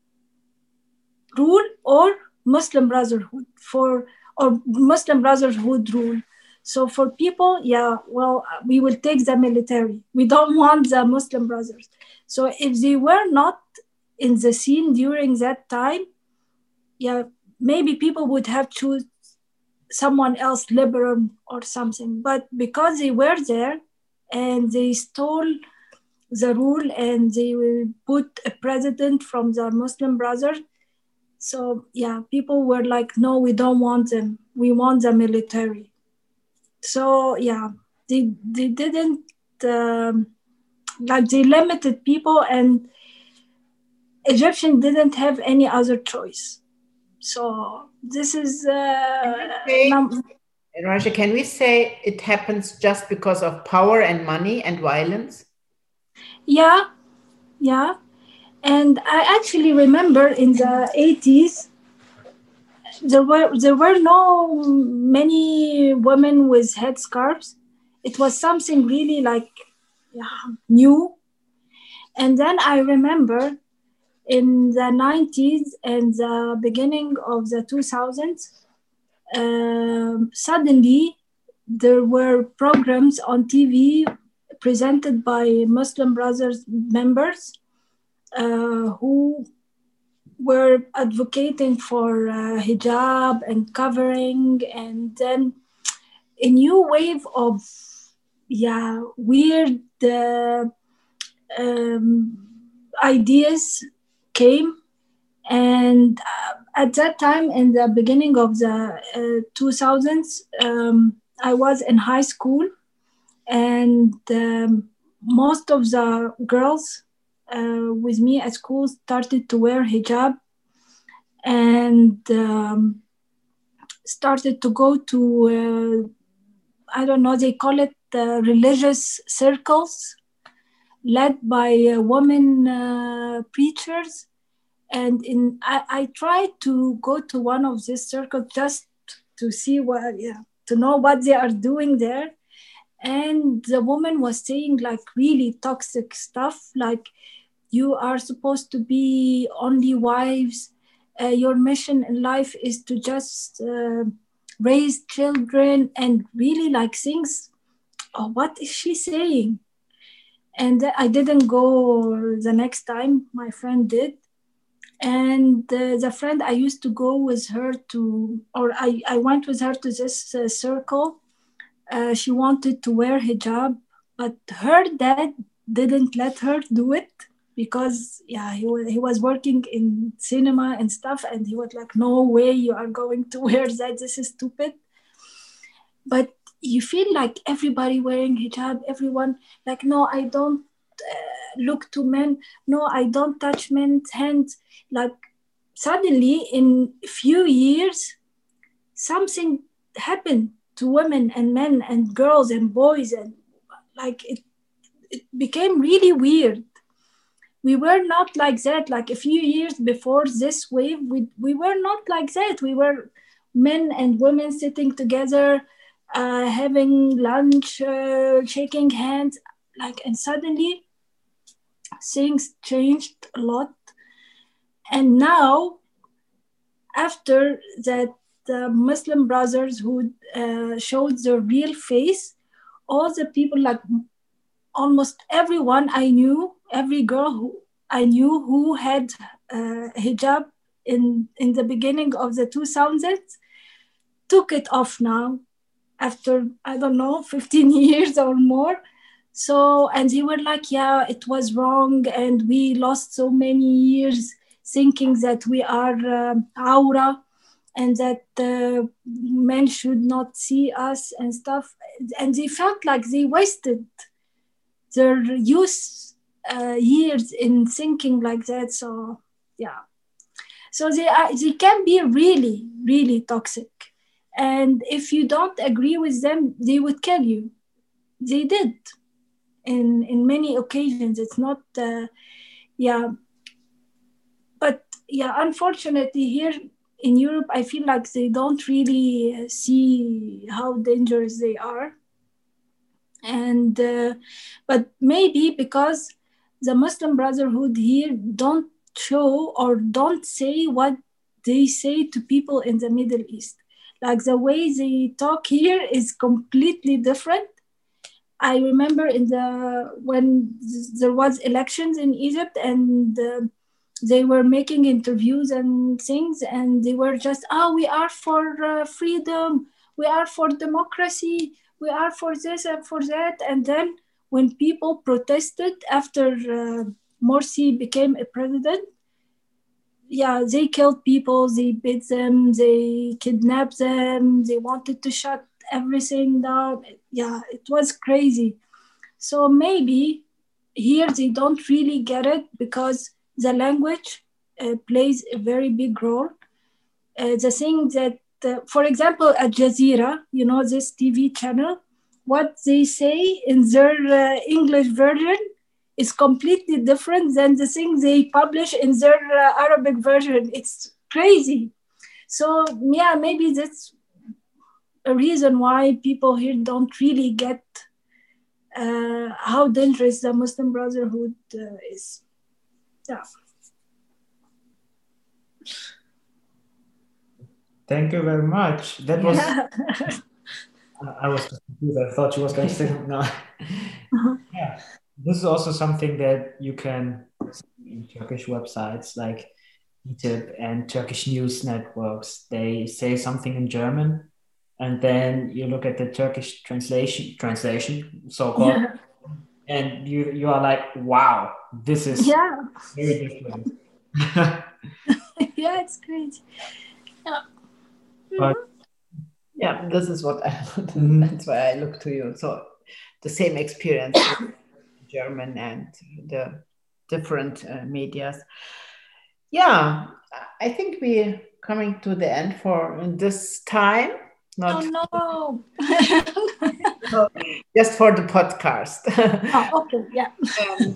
rule or Muslim Brotherhood for or Muslim Brotherhood rule. So for people, yeah, well, we will take the military. We don't want the Muslim Brothers. So if they were not in the scene during that time, yeah, maybe people would have choose someone else, liberal or something. But because they were there and they stole the rule and they will put a president from the Muslim Brothers, so yeah, people were like, no, we don't want them. We want the military. So yeah, they they didn't um, like they limited people, and Egyptians didn't have any other choice. So this is uh, say, num- Raja, can we say it happens just because of power and money and violence? yeah, yeah. And I actually remember in the eighties, there were there were no many women with headscarves. It was something really like yeah, new. And then I remember in the nineties and the beginning of the two thousands, um, suddenly there were programs on T V presented by Muslim Brothers members uh, who were advocating for uh, hijab and covering, and then a new wave of yeah weird uh, um, ideas came. And uh, at that time, in the beginning of the uh, two thousands, um, I was in high school, and um, most of the girls uh, with me at school started to wear hijab and um, started to go to, uh, I don't know, they call it uh, religious circles led by uh, women uh, preachers. And in I, I tried to go to one of these circles just to see what, yeah, to know what they are doing there. And the woman was saying like really toxic stuff, like you are supposed to be only wives. Uh, your mission in life is to just uh, raise children, and really like things. Oh, what is she saying? And I didn't go the next time. My friend did. And uh, the friend I used to go with her to, or I, I went with her to this uh, circle. Uh, she wanted to wear hijab, but her dad didn't let her do it because, yeah, he was, he was working in cinema and stuff, and he was like, no way you are going to wear that. This is stupid. But you feel like everybody wearing hijab, everyone like, no, I don't uh, look to men. No, I don't touch men's hands. Like suddenly in a few years, something happened to women and men and girls and boys, and like it, it became really weird. We were not like that. Like a few years before this wave, we, we were not like that. We were men and women sitting together, uh, having lunch, uh, shaking hands, like, and suddenly things changed a lot. And now, after that, the Muslim Brothers who uh, showed their real face, all the people, like almost everyone I knew, every girl who I knew who had uh, hijab in, in the beginning of the two thousands, took it off now after, I don't know, fifteen years or more. So, and they were like, yeah, it was wrong, and we lost so many years thinking that we are um, aura, and that uh, men should not see us and stuff. And they felt like they wasted their youth uh, years in thinking like that. So yeah, so they are, they can be really, really toxic. And if you don't agree with them, they would kill you. They did in in many occasions. It's not, uh, yeah. But yeah, unfortunately here in Europe, I feel like they don't really see how dangerous they are. And uh, but maybe because the Muslim Brotherhood here don't show or don't say what they say to people in the Middle East. Like the way they talk here is completely different. I remember in the when there was elections in Egypt, and uh, they were making interviews and things, and they were just, oh, we are for uh, freedom, we are for democracy, we are for this and for that. And then when people protested after uh, Morsi became a president, yeah, they killed people, they beat them, they kidnapped them, they wanted to shut everything down. Yeah, it was crazy. So maybe here they don't really get it because the language uh, plays a very big role. Uh, the thing that, uh, for example, Al Jazeera, you know, this T V channel, what they say in their uh, English version is completely different than the thing they publish in their uh, Arabic version. It's crazy. So yeah, maybe that's a reason why people here don't really get uh, how dangerous the Muslim Brotherhood uh, is. Yeah. Thank you very much. That was. Yeah. I was confused. I thought she was going to say no. Uh-huh. Yeah, this is also something that you can see in Turkish websites like E T I B and Turkish news networks. They say something in German, and then you look at the Turkish translation, translation, so-called, yeah. and you you are like, wow, this is yeah. very different. Yeah, it's great. Yeah. But, yeah, this is what I mm-hmm. That's why I look to you. So the same experience in German and the different uh, medias. Yeah, I think we're coming to the end for this time. Not oh no! so just for the podcast. Oh, okay, yeah. um,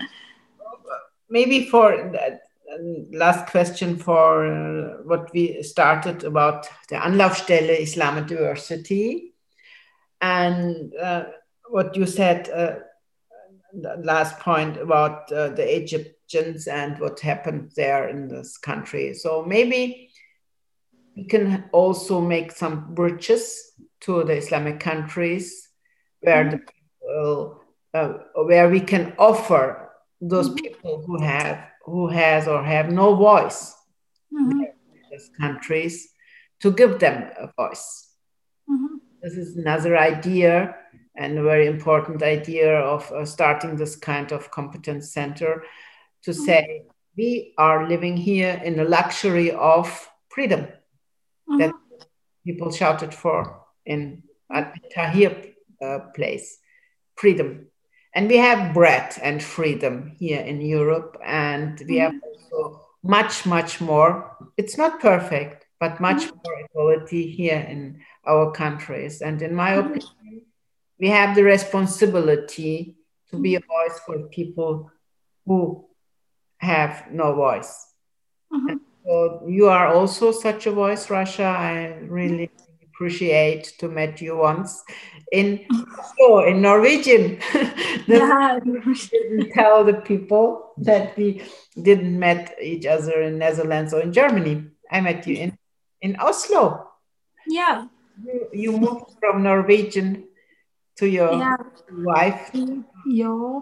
maybe for uh, last question for uh, what we started about the Anlaufstelle Islam Diversity, and uh, what you said, uh, the last point about uh, the Egyptians and what happened there in this country. So maybe we can also make some bridges to the Islamic countries where mm-hmm. the people, uh, where we can offer those mm-hmm. people who have who has or have no voice mm-hmm. in these countries, to give them a voice. Mm-hmm. This is another idea, and a very important idea of uh, starting this kind of competence center, to mm-hmm. say we are living here in the luxury of freedom mm-hmm. that people shouted for in at Tahrir uh, place, freedom. And we have bread and freedom here in Europe, and we mm-hmm. have also much, much more. It's not perfect, but much mm-hmm. more equality here in our countries. And in my mm-hmm. opinion, we have the responsibility to be a voice for people who have no voice. Mm-hmm. So you are also such a voice, Rasha. I really appreciate to meet you once in oh, in Norwegian. Yeah. Didn't tell the people that we didn't met each other in Netherlands or in Germany. I met you in, in Oslo. Yeah. You, you moved from Norwegian to your yeah. wife. Yeah.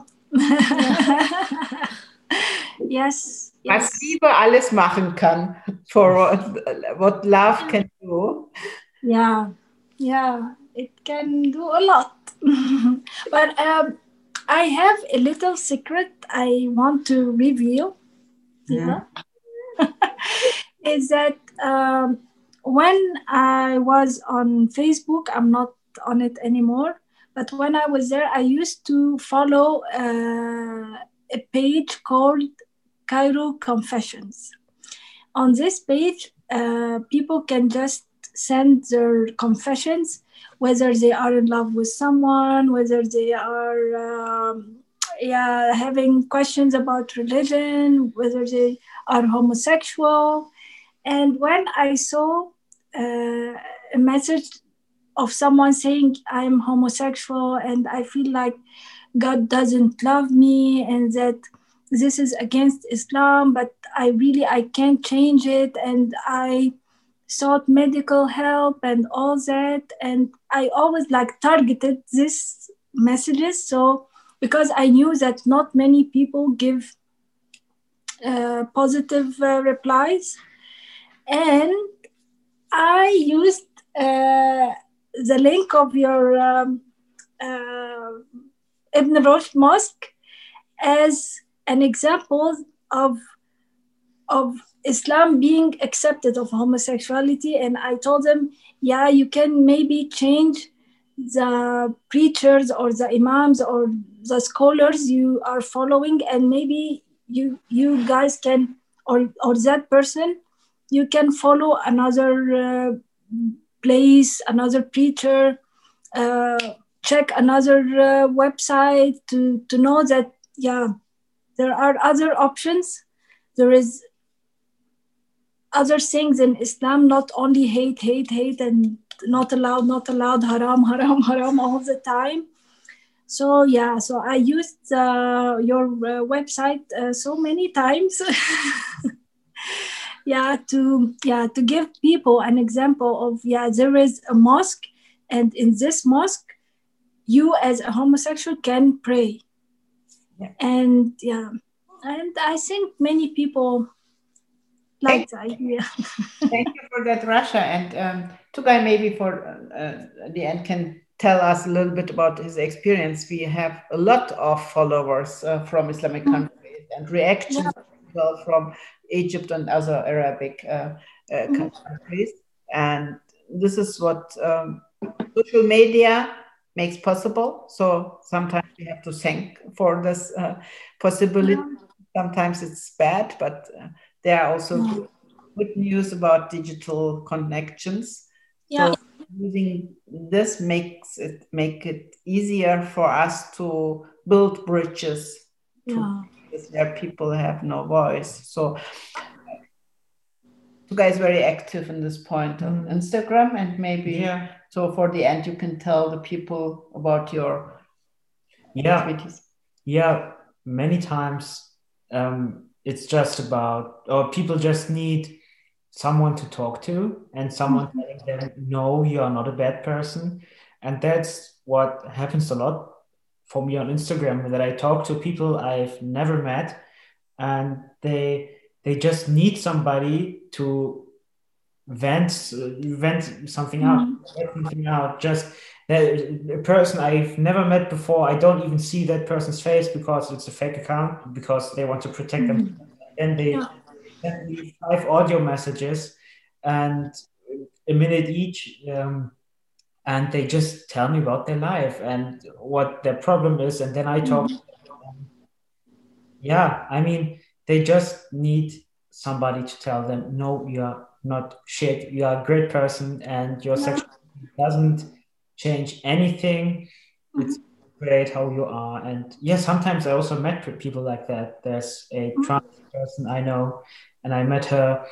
Yes. Was Liebe alles machen kann, for what, what love can do. Yeah, yeah, it can do a lot. But um, I have a little secret I want to reveal. Yeah. Is that um, when I was on Facebook, I'm not on it anymore, but when I was there, I used to follow uh, a page called Cairo Confessions. On this page, uh, people can just send their confessions, whether they are in love with someone, whether they are um, yeah, having questions about religion, whether they are homosexual. And when I saw uh, a message of someone saying, I'm homosexual and I feel like God doesn't love me and that this is against Islam, but I really, I can't change it. And I sought medical help and all that. And I always like targeted these messages. So because I knew that not many people give uh, positive uh, replies. And I used uh, the link of your um, uh, Ibn Rushd Mosque as an example of, of Islam being accepted of homosexuality. And I told them, yeah, you can maybe change the preachers or the imams or the scholars you are following, and maybe you you guys can, or or that person, you can follow another uh, place, another preacher, uh, check another uh, website to to know that yeah, there are other options. There is other things in Islam, not only hate, hate, hate, and not allowed, not allowed, haram, haram, haram all the time. So yeah, so I used uh, your uh, website uh, so many times, yeah, to yeah to give people an example of yeah, there is a mosque, and in this mosque, you as a homosexual can pray, yeah. and yeah, and I think many people like the idea. Thank you for that, Rasha. And um, Tugay maybe for uh, the end can tell us a little bit about his experience. We have a lot of followers uh, from Islamic mm-hmm. countries and reactions yeah. well from Egypt and other Arabic uh, uh, mm-hmm. countries. And this is what um, social media makes possible. So sometimes we have to thank for this uh, possibility. Yeah. Sometimes it's bad, but uh, there are also yeah. good, good news about digital connections. Yeah. So using this makes it make it easier for us to build bridges yeah. to places where people have no voice. So you guys very active in this point on mm. Instagram, and maybe yeah. so for the end you can tell the people about your yeah activities. Yeah, many times um, it's just about, or people just need someone to talk to and someone mm-hmm. telling them, no, you are not a bad person. And that's what happens a lot for me on Instagram, that I talk to people I've never met, and they they just need somebody to vent vent something out, mm-hmm. get something out. Just a person I've never met before, I don't even see that person's face because it's a fake account, because they want to protect mm-hmm. them. And they yeah. send me five audio messages and a minute each, um, and they just tell me about their life and what their problem is, and then I talk mm-hmm. to them. Yeah, I mean, they just need somebody to tell them, no, you are not shit, you are a great person, and your yeah. sexuality doesn't change anything. Mm-hmm. It's great how you are. And yeah, sometimes I also met people like that. There's a mm-hmm. trans person I know, and I met her,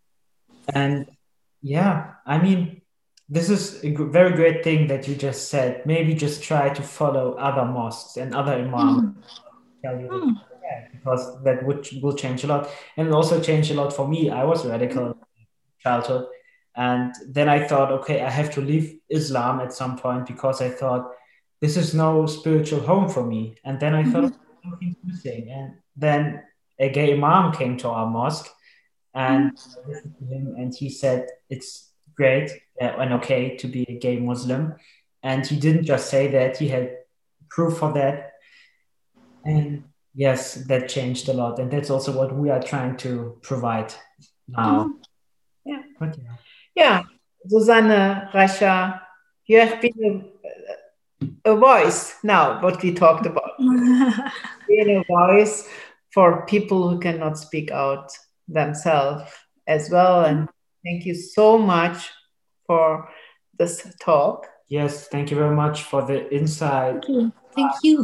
and yeah, I mean, this is a very great thing that you just said. Maybe just try to follow other mosques and other imams. Mm-hmm. Tell you mm-hmm. that, because that would will change a lot, and also change a lot for me. I was radical in childhood, and then I thought, okay, I have to leave Islam at some point, because I thought this is no spiritual home for me. And then I mm-hmm. thought something's missing, and then a gay imam came to our mosque, and mm-hmm. I listened to him, and he said it's great uh, and okay to be a gay Muslim. And he didn't just say that, he had proof for that. And yes, that changed a lot. And that's also what we are trying to provide now. Mm-hmm. Yeah. But, yeah. Yeah, Susanne, Rasha, you have been a, a voice now, what we talked about. being a voice for people who cannot speak out themselves as well. And thank you so much for this talk. Yes, thank you very much for the insight. Thank you. Thank you.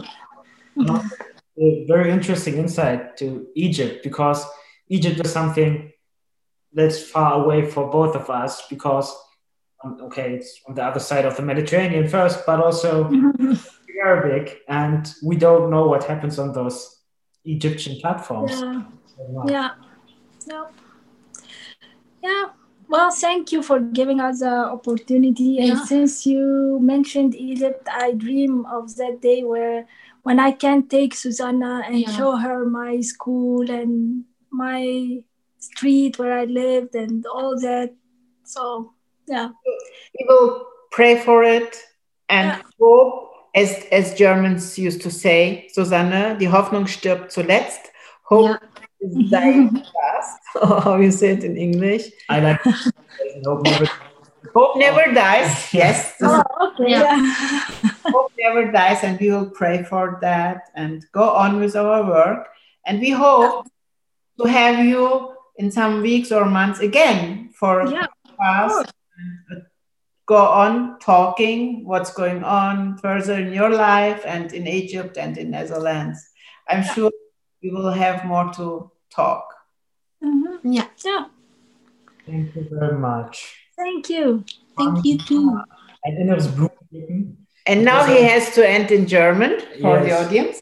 A very interesting insight to Egypt, because Egypt is something that's far away for both of us, because um, okay, it's on the other side of the Mediterranean first, but also Arabic, and we don't know what happens on those Egyptian platforms. Yeah. Yeah. Yeah. Yeah. Well, thank you for giving us the opportunity. And Yeah. since you mentioned Egypt, I dream of that day where when I can take Susanna and Yeah. show her my school and my street where I lived and all that. So, yeah. We will pray for it and Yeah. hope, as, as Germans used to say, Susanne, die Hoffnung stirbt zuletzt. Hope Yeah. is dying fast. How you say it in English? I like hope never. Hope never dies. Yes, this is Oh, okay. Yeah. Yeah. hope never dies, and we will pray for that and go on with our work. And we hope to have you in some weeks or months again for Yeah, us. Go on talking what's going on further in your life and in Egypt and in Netherlands. I'm sure we will have more to talk. Mhm. Yeah. Yeah. Thank you very much. Thank you. Thank you too. Ein inneres Blumenpflücken. And now he has to end in German for the Yes. audience.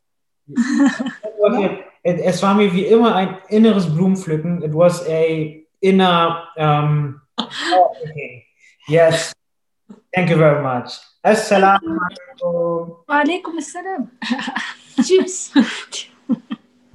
It, es war mir wie immer ein inneres Blumenpflücken. It was a inner. Um, oh, okay. Yes. Thank you very much. Assalamu alaikum. Wa alaikum assalam. Tschüss.